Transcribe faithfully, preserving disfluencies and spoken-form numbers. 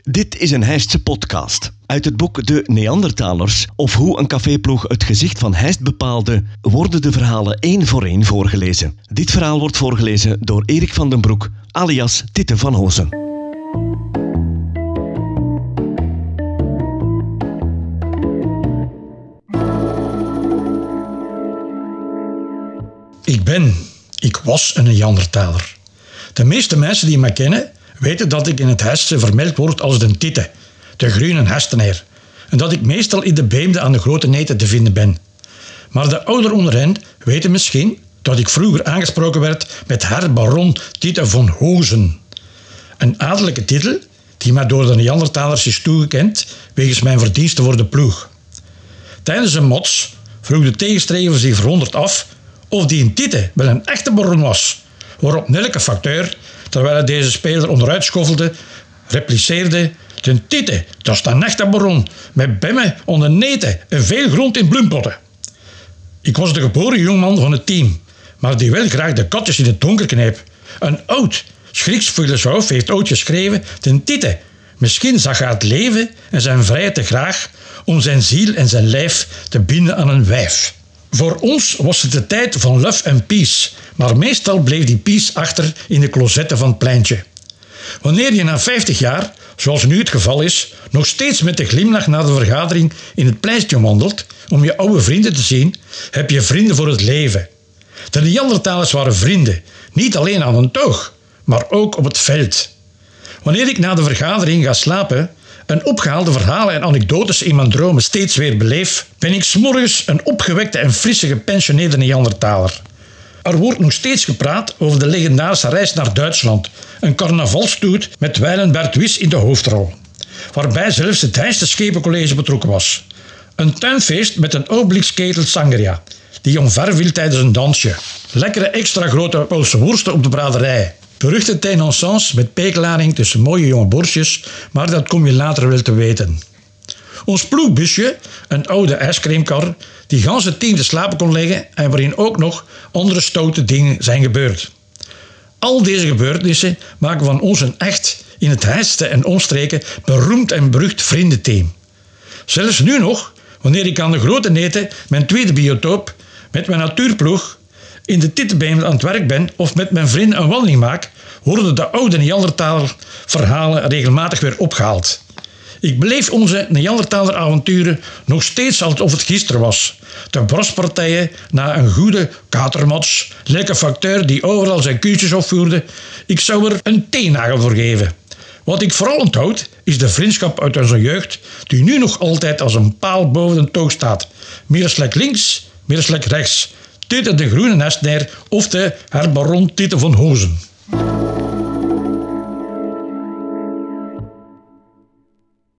Dit is een Heistse podcast. Uit het boek De Neandertalers, of hoe een caféploeg het gezicht van Heist bepaalde, worden de verhalen één voor één voorgelezen. Dit verhaal wordt voorgelezen door Erik van den Broek, alias Titte van Hozen. Ik ben, ik was een Neandertaler. De meeste mensen die me kennen, weten dat ik in het Heistse vermeld word als de Titte, de groene Hestenaar, en dat ik meestal in de beemden aan de grote neten te vinden ben. Maar de ouderen onder hen weten misschien dat ik vroeger aangesproken werd met Herr Baron Titte van Hozen. Een adellijke titel die mij door de Neandertalers is toegekend wegens mijn verdiensten voor de ploeg. Tijdens een mots vroeg de tegenstrever zich verwonderd af of die een Titte wel een echte baron was, waarop Nelke facteur, terwijl hij deze speler onderuit schoffelde, repliceerde: "De Titte, dat is een echte baron, met bemmen onder neten en veel grond in bloempotten." Ik was de geboren jongman van het team, maar die wel graag de katjes in het donker knijp. Een oud Grieks filosoof heeft ooit geschreven: "De Titte, misschien zag hij het leven en zijn vrijheid te graag om zijn ziel en zijn lijf te binden aan een wijf." Voor ons was het de tijd van love en peace, maar meestal bleef die peace achter in de closetten van het pleintje. Wanneer je na vijftig jaar, zoals nu het geval is, nog steeds met de glimlach na de vergadering in het pleintje wandelt om je oude vrienden te zien, heb je vrienden voor het leven. De Neandertalers waren vrienden, niet alleen aan een toog, maar ook op het veld. Wanneer ik na de vergadering ga slapen en opgehaalde verhalen en anekdotes in mijn dromen steeds weer beleef, ben ik 's morgens een opgewekte en frisse gepensioneerde Neandertaler. Er wordt nog steeds gepraat over de legendarische reis naar Duitsland, een carnavalstoet met wijlen Bert Wies in de hoofdrol, waarbij zelfs het Heistse Schepencollege betrokken was. Een tuinfeest met een obliksketel sangria, die omverviel tijdens een dansje. Lekkere extra grote Poolse worsten op de braderij. Beruchte tenanciens met pekelaring tussen mooie jonge borstjes, maar dat kom je later wel te weten. Ons ploegbusje, een oude ijscreamkar, die gans het team te slapen kon leggen en waarin ook nog andere stoute dingen zijn gebeurd. Al deze gebeurtenissen maken van ons een echt, in het Heistse en omstreken, beroemd en berucht vriendenteam. Zelfs nu nog, wanneer ik aan de grote neten, mijn tweede biotoop, met mijn natuurploeg, in de Tittebeemden aan het werk ben of met mijn vrienden een wandeling maak, worden de oude Neandertaler verhalen regelmatig weer opgehaald. Ik beleef onze Neandertaler avonturen nog steeds alsof het gisteren was. De braspartijen na een goede katermatch, lekker facteur die overal zijn kuutjes opvoerde. Ik zou er een teennagel voor geven. Wat ik vooral onthoud is de vriendschap uit onze jeugd, die nu nog altijd als een paal boven de toog staat. Meer slek links, meer slek rechts. Titte de groene Hestenaar of de Herr Baron Titte van Hozen.